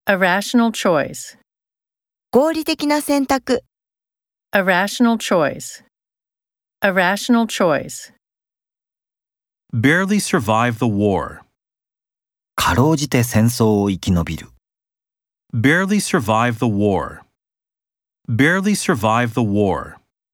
A rational choice. 合理的な選択。 A rational choice. A rational choice. Barely survive the war. かろうじて戦争を生き延びる。 Barely survive the war. Barely survive the war.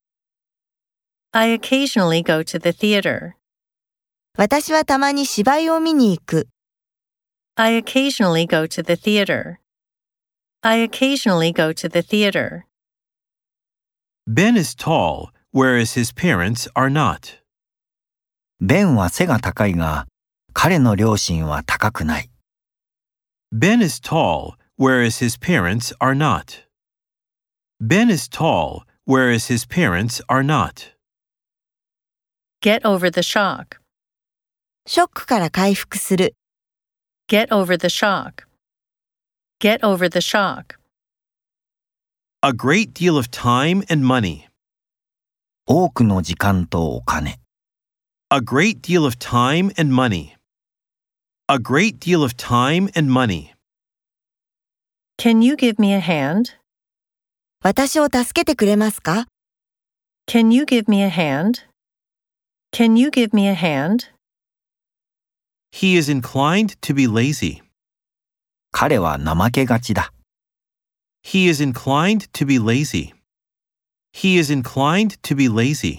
I occasionally go to the theater. 私はたまに芝居を見に行く。 I occasionally go to the theater. I occasionally go to the theater. Ben is tall, whereas his parents are not. ベンは背が高いが、彼の両親は高くない。 Ben is tall, whereas his parents are not. Ben is tall, whereas his parents are not. Get over the shock. ショックから回復する。 Get over the shock. Get over the shock. A great deal of time and money. 多くの時間とお金。 A great deal of time and money. A great deal of time and money. Can you give me a hand? 私を助けてくれますか？ Can you give me a hand? Can you give me a hand? He is inclined to be lazy. 彼は怠けがちだ。 He is inclined to be lazy. He is inclined to be lazy.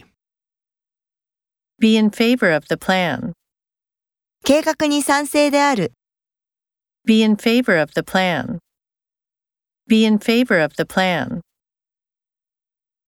Be in favor of the plan. 計画に賛成である。 Be in favor of the plan. Be in favor of the plan.